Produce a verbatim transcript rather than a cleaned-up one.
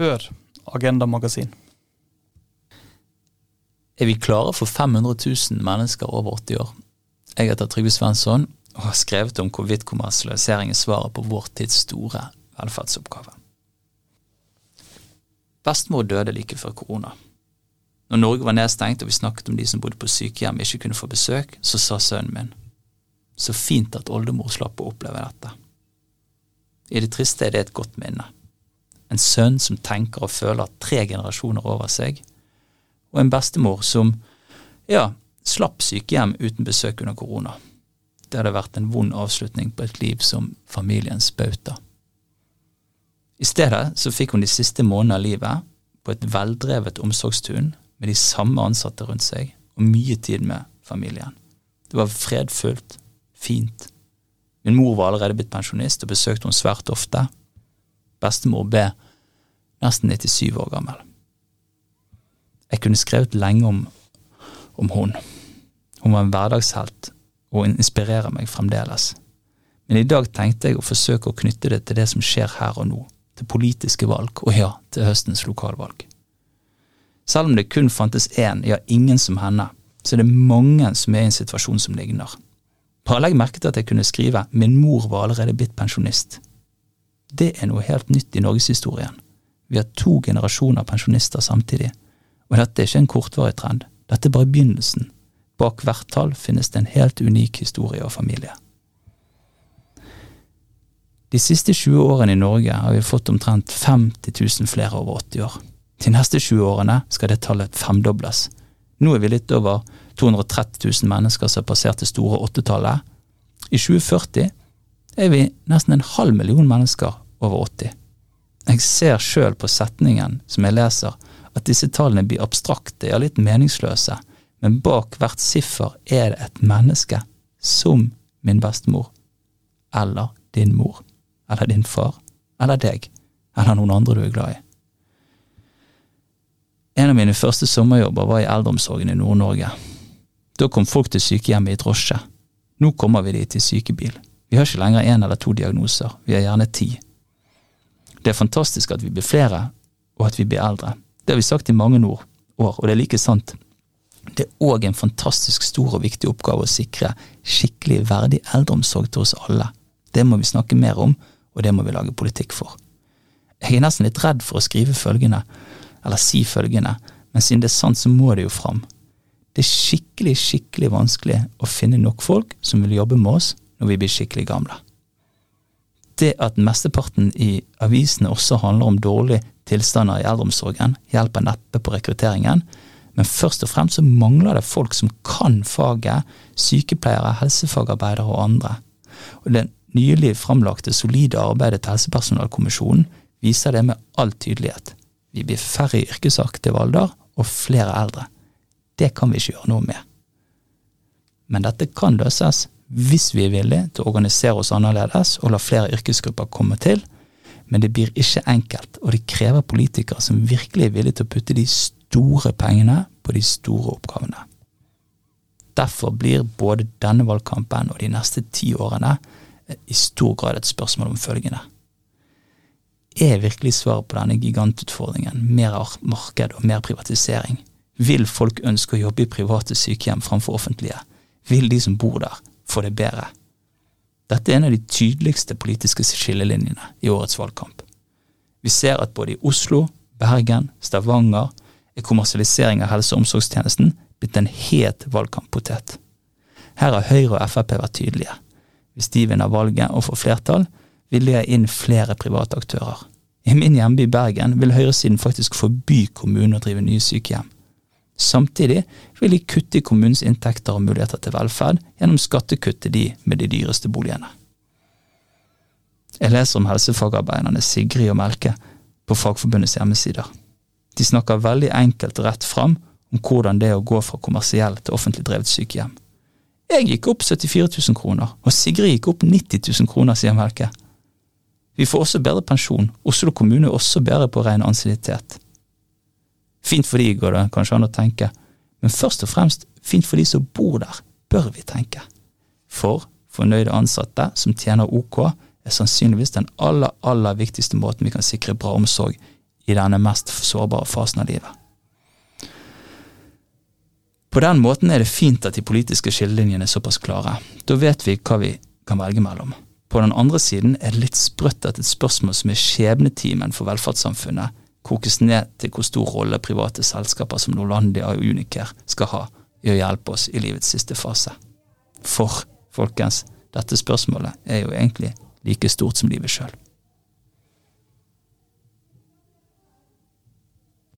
Hør Agenda Magasin. Er vi klare for fem hundre tusen mennesker over åtti år? Jeg heter Trygve Svensson og har skrevet om hvorvidt kommersialisering er svaret på vår tids store velferdsoppgave. Bestemor døde like før korona. Når Norge var nedstengt og vi snakket om de som bodde på sykehjem ikke kunne få besøk, så sa sønnen min: så fint at oldemor slapp å oppleve dette. I det triste er det et godt minne. En sønn som tenker og føler tre generasjoner over seg, og en bestemor som, ja, slapp sykehjem uten besøk under korona. Det hadde vært en vond avslutning på et liv som familiens bauta. I stedet så fikk hun de siste månedene av livet på et veldrevet omsorgstun med de samme ansatte rundt seg og mye tid med familien. Det var fredfullt, fint. Min mor var allerede blitt pensjonist og besøkte hun svært ofte. Bestemor ble nesten nittisyv år gammel. Jeg kunne skrevet lenge om, om hun. Hun var en hverdagshelt og inspirerer meg fremdeles. Men i dag tenkte jeg å forsøke å knytte det til det som skjer her og nå, til politiske valg, og ja, til høstens lokalvalg. Selv om det kun fantes en, ja ingen som henne, så er det mange som er i en situasjon som ligner. Bare legg merke til at jeg kunne skrive «Min mor var allerede blitt pensjonist». Det er noe helt nytt i Norgeshistorien. Vi har to generasjoner pensjonister samtidig, og dette er ikke en kortvarig trend. Dette er bare begynnelsen. Bak hvert tall finnes det en helt unik historie og familie. De siste tjue årene i Norge har vi fått omtrent femti tusen flere over åtti år. De neste tjue årene skal det tallet femdobles. Nå er vi litt over to hundre og tretti tusen mennesker som har passert det store åttetallet. I tjue førti er vi nesten en halv million mennesker over åtti. Jeg ser selv på setningen som jeg leser at disse tallene blir abstrakte, ja litt meningsløse, men bak hvert siffer er det et menneske som min bestemor, eller din mor, eller din far, eller deg, eller noen andre du er glad i. En av mine første sommerjobber var i eldreomsorgen i Nord-Norge. Da kom folk til sykehjemmet i drosje. Nå kommer vi dit i sykebil. Vi har ikke lenger en eller to diagnoser, vi har gjerne ti. Det er fantastisk at vi blir flere, og at vi blir eldre. Det har vi sagt i mange år, og det er like sant. Det er også en fantastisk stor og viktig oppgave å sikre skikkelig verdig eldreomsorg til oss alle. Det må vi snakke mer om, og det må vi lage politikk for. Jeg er nesten litt redd for å skrive følgende, eller si følgende, men siden det er sant så må det jo fram. Det er skikkelig, skikkelig vanskelig å finne nok folk som vil jobbe med oss når vi blir skikkelig gamle. Det at mesteparten i avisene også handler om dårlige tilstander i eldreomsorgen, hjelper neppe på rekrutteringen, men først og fremst så mangler det folk som kan faget, sykepleiere, helsefagarbeidere og andre. Og det nylig fremlagte solide arbeidet til Helsepersonalkommisjonen viser det med all tydelighet. Vi blir færre i yrkesaktiv alder og flere eldre. Det kan vi ikke gjøre noe med. Men dette kan løses hvis vi er villige til å organisere oss annerledes og la flere yrkesgrupper komme til, men det blir ikke enkelt, og det krever politikere som virkelig er villige til å putte de store pengene på de store oppgavene. Derfor blir både denne valgkampen og de neste ti årene i stor grad et spørsmål om følgende. Er virkelig svaret på denne gigantutfordringen mer marked og mer privatisering? Vil folk ønske å jobbe i private sykehjem framfor offentlige? Vil de som bor der få det bedre? Dette er en av de tydeligste politiske skillelinjene i årets valgkamp. Vi ser at både i Oslo, Bergen, Stavanger er kommersialisering av helse- og omsorgstjenesten blitt en het valgkamppotet. Her har Høyre og F F P vært tydelige. Hvis de vinner valget og får flertall, vil de ha inn flere private aktører. I min hjemby Bergen vil høyresiden faktisk forby kommunen å drive nye sykehjem. Samtidig vil de kutte i kommunens inntekter og muligheter til velferd gjennom skattekutt til de med de dyreste boligene. Jeg leser om helsefagarbeiderne Sigrid og Melke på Fagforbundets hjemmesider. De snakker veldig enkelt og rett fram om hvordan det er å gå fra kommersiell til offentlig drevet sykehjem. Jeg gikk opp syttifire tusen kroner, og Sigrid gikk opp nitti tusen kroner, sier Melke. Vi får også bedre pensjon. Oslo kommune er også bedre på ren ansiennitet. Fint for de går det kanskje an å tenke, men først og fremst fint for de som bor der, bør vi tenke. For fornøyde ansatte som tjener OK er sannsynligvis den aller, aller viktigste måten vi kan sikre bra omsorg i denne mest sårbare fasen av livet. På den måten er det fint at de politiske skillelinjene er såpass klare. Da vet vi hva vi kan velge mellom. På den andre siden er det litt sprøtt at et spørsmål som er skjebnetimen for velferdssamfunnet kokes ned til hvor stor rolle private selskaper som Norlandia og Unicare skal ha i å hjelpe oss i livets siste fase. For, folkens, dette spørsmålet er jo egentlig like stort som livet selv.